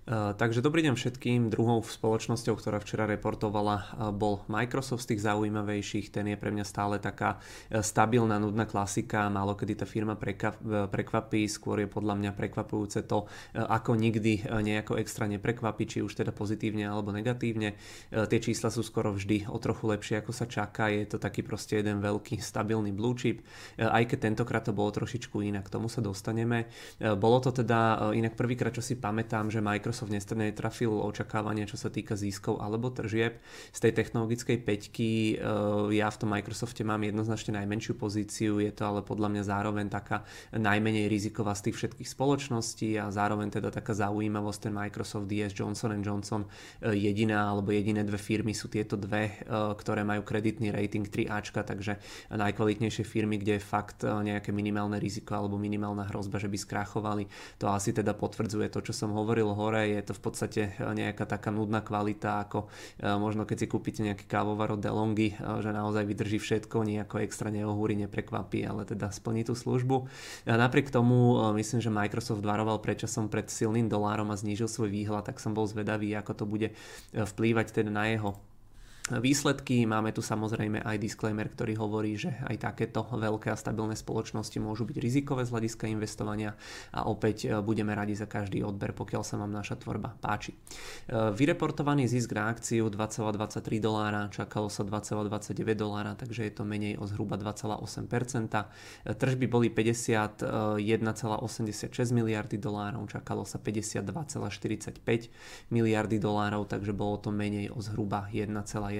Takže dobrý deň všetkým. Druhou spoločnosťou, ktorá včera reportovala, bol Microsoft z tých zaujímavejších. Ten je pre mňa stále taká stabilná, nudná klasika. Málo kedy tá firma prekvapí. Skôr je podľa mňa prekvapujúce to, ako nikdy nejako extra neprekvapí, či už teda pozitívne alebo negatívne. Tie čísla sú skoro vždy o trochu lepšie, ako sa čaká. Je to taký proste jeden veľký stabilný blue chip. Aj keď tentokrát to bolo trošičku inak, k tomu sa dostaneme. Bolo to teda inak prvýkrát, čo si pamätám, že Microsoft netrafil očakávania, čo sa týka získov alebo tržieb. Z tej technologickej peťky ja v tom Microsofte mám jednoznačne najmenšiu pozíciu, je to ale podľa mňa zároveň taká najmenej riziková z tých všetkých spoločností a zároveň teda taká zaujímavosť, ten Microsoft DS Johnson & Johnson, jediné dve firmy sú tieto dve, ktoré majú kreditný rating 3Ačka, takže najkvalitnejšie firmy, kde je fakt nejaké minimálne riziko alebo minimálna hrozba, že by skrachovali. To asi teda potvrdzuje to, čo som hovoril hore. Je to v podstate nejaká taká nudná kvalita, ako možno keď si kúpite nejaký kávovar od DeLonghi, že naozaj vydrží všetko, nejako extra neohúri, neprekvapí, ale teda splní tú službu. Napriek tomu myslím, že Microsoft varoval predčasom pred silným dolárom a znížil svoj výhľad, tak som bol zvedavý, ako to bude vplývať teda na jeho výsledky. Máme tu samozrejme aj disclaimer, ktorý hovorí, že aj takéto veľké a stabilné spoločnosti môžu byť rizikové z hľadiska investovania a opäť budeme radi za každý odber, pokiaľ sa vám naša tvorba páči. Vyreportovaný zisk na akciu $2,23, čakalo sa $2,29, takže je to menej o zhruba 2,8%. Tržby boli $51,86 miliardy, čakalo sa $52,45 miliardy, takže bolo to menej o zhruba 1,1%.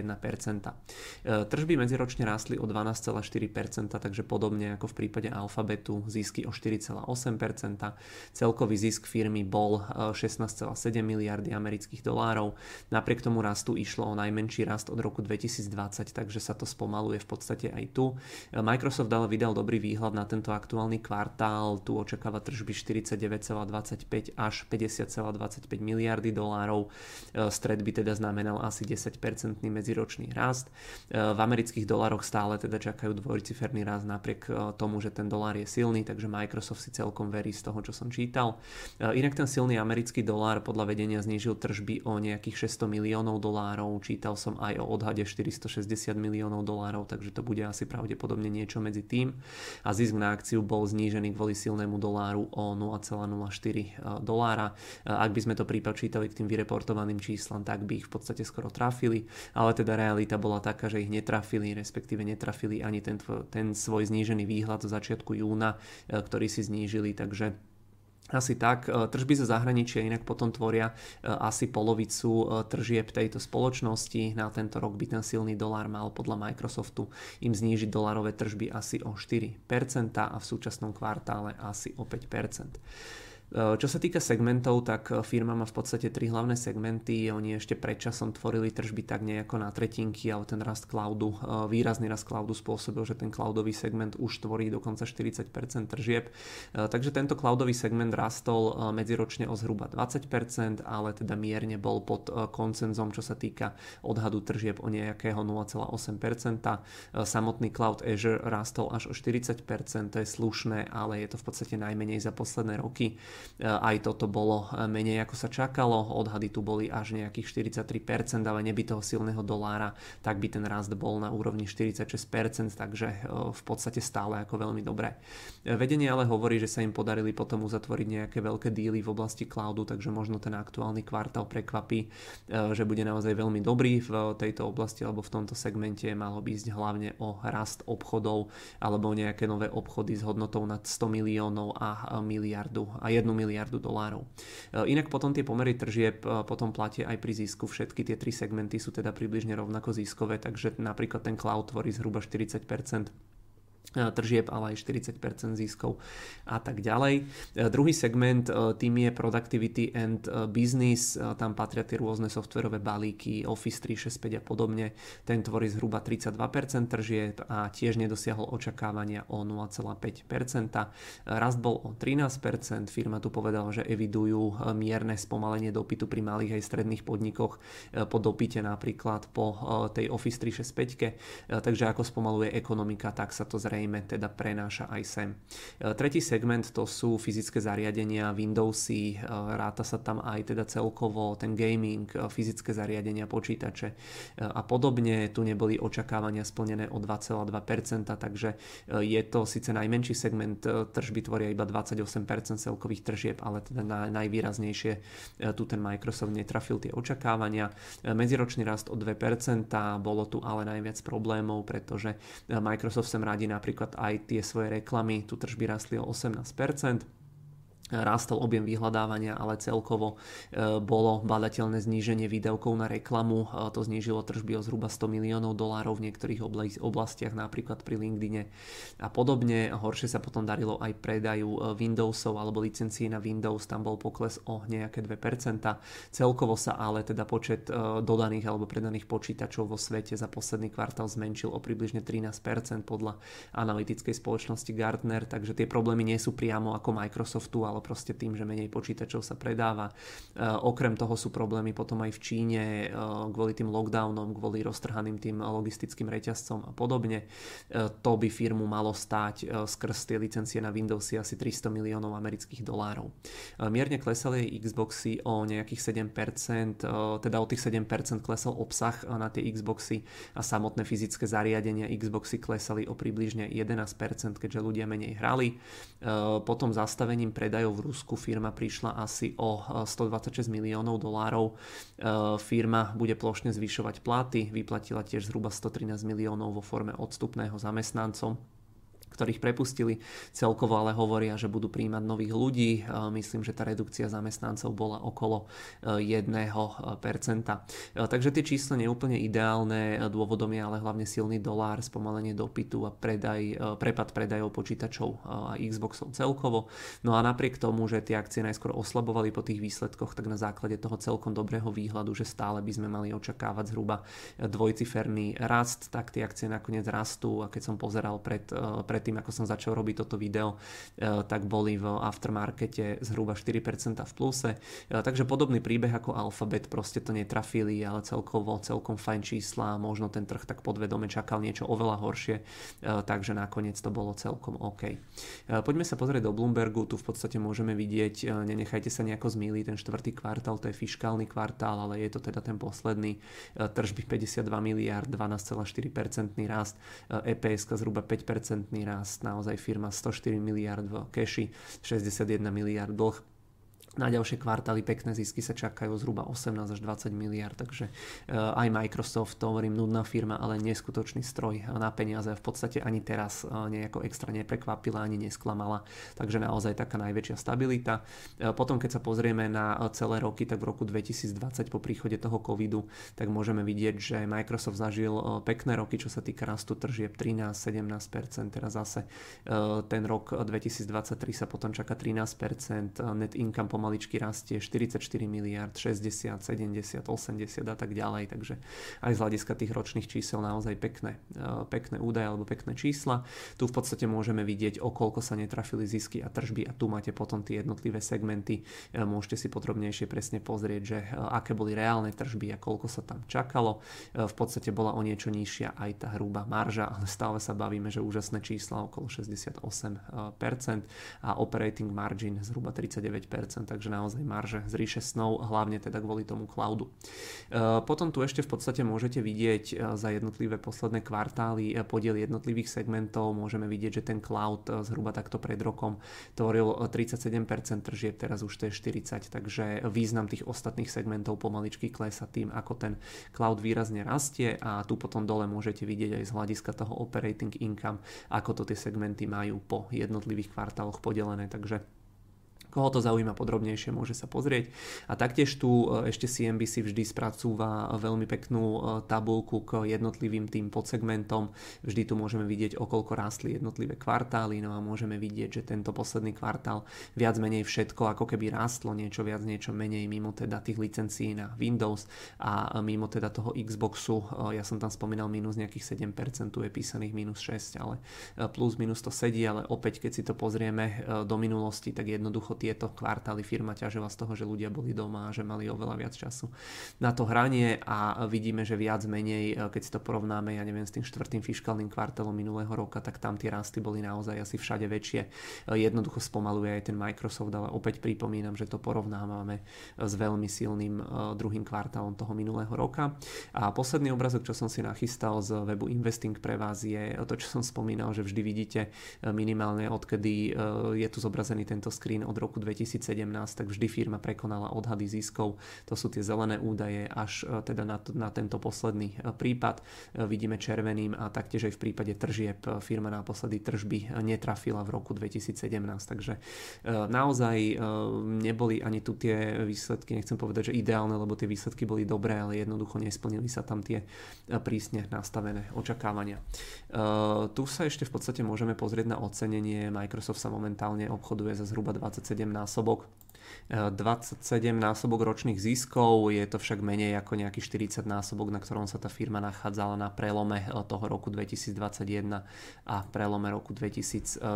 Tržby medziročne rástli o 12,4%, takže podobne ako v prípade Alphabetu, zisky o 4,8%. Celkový zisk firmy bol 16,7 miliardy amerických dolárov. Napriek tomu rastu išlo o najmenší rast od roku 2020, takže sa to spomaluje v podstate aj tu. Microsoft ale vydal dobrý výhľad na tento aktuálny kvartál. Tu očakáva tržby 49,25 až 50,25 miliardy dolárov. Stred by teda znamenal asi 10% medziročný rast. V amerických dolároch stále teda čakajú dvojciferný rast napriek tomu, že ten dolár je silný, takže Microsoft si celkom verí z toho, čo som čítal. Inak ten silný americký dolár podľa vedenia znížil tržby o nejakých $600 miliónov. Čítal som aj o odhade $460 miliónov, takže to bude asi pravdepodobne niečo medzi tým. A zisk na akciu bol znížený kvôli silnému doláru o $0,04. Ak by sme to pripočítali k tým vyreportovaným číslam, tak by ich v podstate skoro trafili, ale teda realita bola taká, že ich netrafili, respektíve netrafili ani ten svoj znížený výhľad zo začiatku júna, ktorý si znížili, takže asi tak. Tržby zo zahraničia inak potom tvoria asi polovicu tržieb tejto spoločnosti. Na tento rok by ten silný dolár mal podľa Microsoftu im znížiť dolárové tržby asi o 4% a v súčasnom kvartále asi o 5%. Čo sa týka segmentov, tak firma má v podstate 3 hlavné segmenty. Oni ešte predčasom tvorili tržby tak nejako na tretinky, ale ten rast cloudu, výrazný rast cloudu spôsobil, že ten cloudový segment už tvorí dokonca 40% tržieb. Takže tento cloudový segment rastol medziročne o zhruba 20%, ale teda mierne bol pod koncenzom, čo sa týka odhadu tržieb o nejakého 0,8%. Samotný cloud Azure rastol až o 40%, to je slušné, ale je to v podstate najmenej za posledné roky. Aj toto bolo menej ako sa čakalo, odhady tu boli až nejakých 43%, ale neby toho silného dolára, tak by ten rast bol na úrovni 46%, takže v podstate stále ako veľmi dobré. Vedenie ale hovorí, že sa im podarili potom uzatvoriť nejaké veľké díly v oblasti cloudu, takže možno ten aktuálny kvartál prekvapí, že bude naozaj veľmi dobrý v tejto oblasti alebo v tomto segmente. Malo by ísť hlavne o rast obchodov alebo nejaké nové obchody s hodnotou nad 100 miliónov a 1 miliardu dolárov. Inak potom tie pomery tržieb potom platia aj pri zisku. Všetky tie 3 segmenty sú teda približne rovnako ziskové, takže napríklad ten cloud tvorí zhruba 40% tržieb, ale aj 40% ziskov a tak ďalej. Druhý segment, tým je Productivity and Business, tam patria tie rôzne softverové balíky, Office 365 a podobne. Ten tvorí zhruba 32% tržieb a tiež nedosiahol očakávania o 0,5%. Rast bol o 13%, firma tu povedala, že evidujú mierne spomalenie dopytu pri malých aj stredných podnikoch po dopyte napríklad po tej Office 365, takže ako spomaluje ekonomika, tak sa to zrejme zrejme teda prenáša aj sem. Tretí segment to sú fyzické zariadenia, Windowsy, ráta sa tam aj teda celkovo ten gaming, fyzické zariadenia, počítače a podobne. Tu neboli očakávania splnené o 2,2%, takže je to síce najmenší segment, tržby tvoria iba 28% celkových tržieb, ale teda najvýraznejšie tu ten Microsoft netrafil tie očakávania. Medziročný rast o 2%, bolo tu ale najviac problémov, pretože Microsoft sem radí napríklad aj tie svoje reklamy, tu tržby rastli o 18%. Rástol objem vyhľadávania, ale celkovo bolo badateľné zníženie výdavkov na reklamu. To znížilo tržby o zhruba $100 miliónov v niektorých oblastiach, napríklad pri LinkedIne a podobne. Horšie sa potom darilo aj predaju Windowsov alebo licencií na Windows, tam bol pokles o nejaké 2%. Celkovo sa ale teda počet dodaných alebo predaných počítačov vo svete za posledný kvartál zmenšil o približne 13% podľa analytickej spoločnosti Gartner, takže tie problémy nie sú priamo ako Microsoftu, ale proste tým, že menej počítačov sa predáva. Okrem toho sú problémy potom aj v Číne kvôli tým lockdownom, kvôli roztrhaným tým logistickým reťazcom a podobne. To by firmu malo stáť skrz tie licencie na Windowsy asi $300 miliónov. Mierne klesali jej Xboxy o nejakých 7%, teda o tých 7% klesol obsah na tie Xboxy a samotné fyzické zariadenia Xboxy klesali o približne 11%, keďže ľudia menej hrali. Potom zastavením predajov v Rusku firma prišla asi o $126 miliónov. Firma bude plošne zvyšovať platy, vyplatila tiež zhruba 113 miliónov vo forme odstupného zamestnancom, ktorých prepustili. Celkovo ale hovoria, že budú prijímať nových ľudí. Myslím, že tá redukcia zamestnancov bola okolo 1%. Takže tie čísla neúplne ideálne. Dôvodom je ale hlavne silný dolár, spomalenie dopytu a prepad predajov počítačov a Xboxov celkovo. No a napriek tomu, že tie akcie najskôr oslabovali po tých výsledkoch, tak na základe toho celkom dobrého výhľadu, že stále by sme mali očakávať zhruba dvojciferný rast, tak tie akcie nakoniec rastú a keď som pozeral pred tým, ako som začal robiť toto video, tak boli v aftermarkete zhruba 4% v pluse. Takže podobný príbeh ako Alphabet, proste to netrafili, ale celkom fajn čísla, možno ten trh tak podvedome čakal niečo oveľa horšie, takže nakoniec to bolo celkom OK. Poďme sa pozrieť do Bloombergu, tu v podstate môžeme vidieť, nenechajte sa nejako zmýliť, ten štvrtý kvartál, to je fiškálny kvartál, ale je to teda ten posledný, tržby 52 miliárd, 12,4% rast, EPS zhruba 5% rast, naozaj firma 104 miliard v keši, 61 miliard dlh. Na ďalšie kvartály pekné zisky sa čakajú zhruba 18 až 20 miliard, takže aj Microsoft, to hovorím, nudná firma, ale neskutočný stroj na peniaze, v podstate ani teraz nejako extra neprekvapila, ani nesklamala, takže naozaj taká najväčšia stabilita. Potom keď sa pozrieme na celé roky, tak v roku 2020 po príchode toho covidu, tak môžeme vidieť, že Microsoft zažil pekné roky, čo sa týka rastu tržieb 13-17%, teraz zase ten rok 2023 sa potom čaká 13%, net income pomaličky rastie 44 miliard, 60, 70, 80 a tak ďalej, takže aj z hľadiska tých ročných čísel naozaj pekné údaje alebo pekné čísla. Tu v podstate môžeme vidieť, o koľko sa netrafili zisky a tržby a tu máte potom tie jednotlivé segmenty. Môžete si podrobnejšie presne pozrieť, že aké boli reálne tržby a koľko sa tam čakalo. V podstate bola o niečo nižšia aj tá hrubá marža, ale stále sa bavíme, že úžasné čísla okolo 68% a operating margin zhruba 39%, takže naozaj marže z ríše snov, hlavne teda kvôli tomu cloudu. Potom tu ešte v podstate môžete vidieť za jednotlivé posledné kvartály podiel jednotlivých segmentov. Môžeme vidieť, že ten cloud zhruba takto pred rokom tvoril 37% tržieb, teraz už to je 40%, takže význam tých ostatných segmentov pomaličky klesá tým, ako ten cloud výrazne rastie a tu potom dole môžete vidieť aj z hľadiska toho operating income, ako to tie segmenty majú po jednotlivých kvartáloch podelené, takže koho to zaujíma podrobnejšie, môže sa pozrieť. A taktiež tu ešte CNBC vždy spracúva veľmi peknú tabuľku k jednotlivým tým podsegmentom. Vždy tu môžeme vidieť, o koľko rástli jednotlivé kvartály, no a môžeme vidieť, že tento posledný kvartál viac menej všetko ako keby rástlo, niečo viac, niečo menej mimo teda tých licencií na Windows a mimo teda toho Xboxu. Ja som tam spomínal minus nejakých 7%, tu je písaných minus 6, ale plus minus to sedí, ale opäť keď si to pozrieme do minulosti, tak jednoducho tieto kvartály firma ťažila z toho, že ľudia boli doma a že mali oveľa viac času na to hranie a vidíme, že viac menej, keď si to porovnáme, ja neviem, s tým štvrtým fiškálnym kvartálom minulého roka, tak tam tie rasty boli naozaj asi všade väčšie. Jednoducho spomaluje aj ten Microsoft, ale opäť pripomínam, že to porovnávame s veľmi silným druhým kvartálom toho minulého roka. A posledný obrazok, čo som si nachystal z webu Investing pre vás, je to, čo som spomínal, že vždy vidíte minimálne odkedy je tu zobrazený tento screen od roku 2017, tak vždy firma prekonala odhady ziskov. To sú tie zelené údaje až teda na tento posledný prípad. Vidíme červeným a taktiež aj v prípade tržieb firma naposledy tržby netrafila v roku 2017, takže naozaj neboli ani tu tie výsledky, nechcem povedať, že ideálne, lebo tie výsledky boli dobré, ale jednoducho nesplnili sa tam tie prísne nastavené očakávania. Tu sa ešte v podstate môžeme pozrieť na ocenenie. Microsoft sa momentálne obchoduje za zhruba 27 násobok. 27 násobok ročných ziskov, je to však menej ako nejaký 40 násobok, na ktorom sa tá firma nachádzala na prelome toho roku 2021 a prelome roku 2022.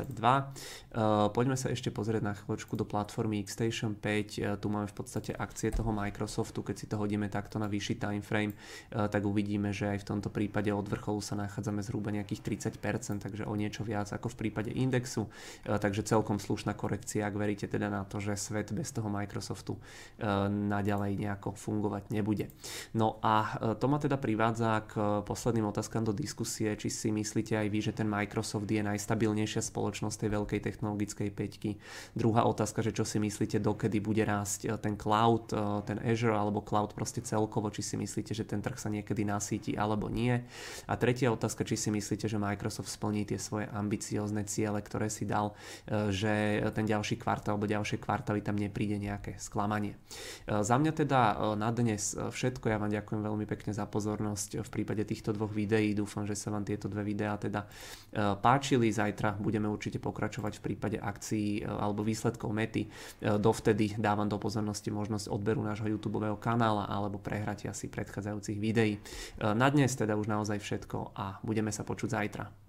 Poďme sa ešte pozrieť na chvíľočku do platformy Xstation 5. Tu máme v podstate akcie toho Microsoftu. Keď si to hodíme takto na vyšší timeframe, tak uvidíme, že aj v tomto prípade od vrcholu sa nachádzame zhruba nejakých 30%, takže o niečo viac ako v prípade indexu. Takže celkom slušná korekcia, ak veríte teda na to, že svet bez toho Microsoftu naďalej nejako fungovať nebude. No a to ma teda privádza k posledným otázkam do diskusie, či si myslíte aj vy, že ten Microsoft je najstabilnejšia spoločnosť tej veľkej technologickej päťky. Druhá otázka, že čo si myslíte, dokedy bude rásť ten cloud, ten Azure alebo cloud proste celkovo, či si myslíte, že ten trh sa niekedy nasíti alebo nie. A tretia otázka, či si myslíte, že Microsoft splní tie svoje ambiciózne ciele, ktoré si dal, že ten ďalší kvartál alebo ďalšie kvartály tam nepríde nejaké sklamanie. Za mňa teda na dnes všetko. Ja vám ďakujem veľmi pekne za pozornosť v prípade týchto dvoch videí. Dúfam, že sa vám tieto dve videá teda páčili. Zajtra budeme určite pokračovať v prípade akcií alebo výsledkov Mety. Dovtedy dávam do pozornosti možnosť odberu nášho YouTubeového kanála alebo prehratia si predchádzajúcich videí. Na dnes teda už naozaj všetko a budeme sa počuť zajtra.